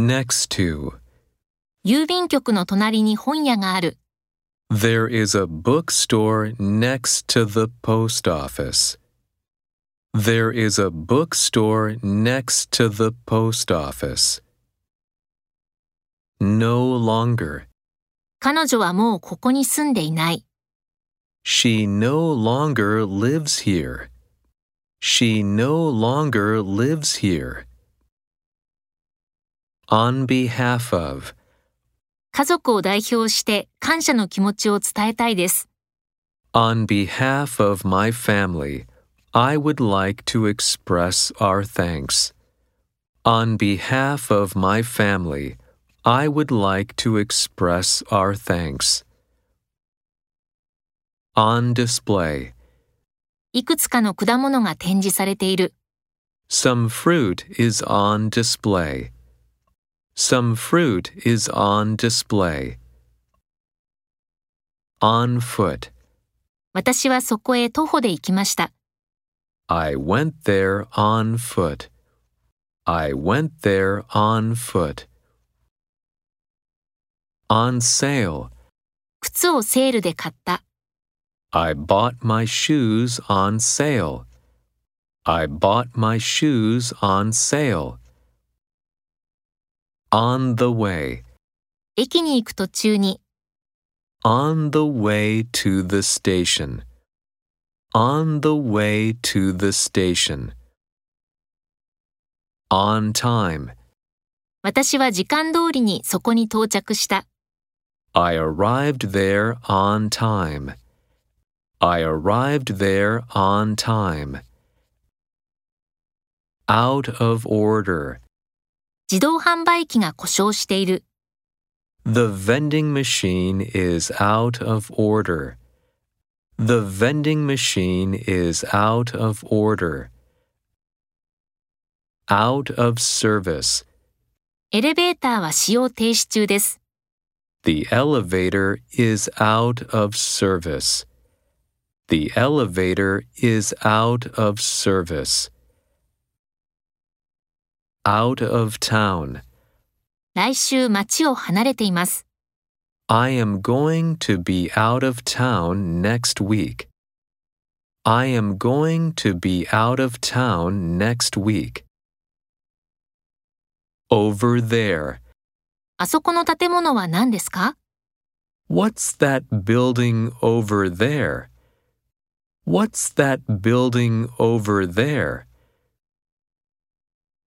next to. 郵便局の隣に本屋がある。 There is a bookstore next to the post office. There is a bookstore next to the post office. No longer. 彼女はもうここに住んでいない。 She no longer lives here. She no longer lives here. On behalf of. 家族を代表して感謝の気持ちを伝えたいです。 On behalf of my family, I would like to express our thanks. On behalf of my family, I would like to express our thanks. On display. いくつかの果物が展示されている。 Some fruit is on display. Some fruit is on display. On foot. 私はそこへ徒歩で行きました。 I went there on foot. I went there on foot. On sale. 靴をセールで買った。 I bought my shoes on sale. I bought my shoes on sale. On the way. 駅に行く途中に。 On the way to the station. On the way to the station. On time. 私は時間通りにそこに到着した。 I arrived there on time. I arrived there on time. Out of order. 自動販売機が故障している。 The vending machine is out of order. The vending machine is out of order. Out of service. エレベーターは使用停止中です。 The elevator is out of service. The elevator is out of service. Out of town. 来週町を離れています。 I am going to be out of town next week. I am going to be out of town next week. Over there. あそこの建物は何ですか？ What's that building over there? What's that building over there?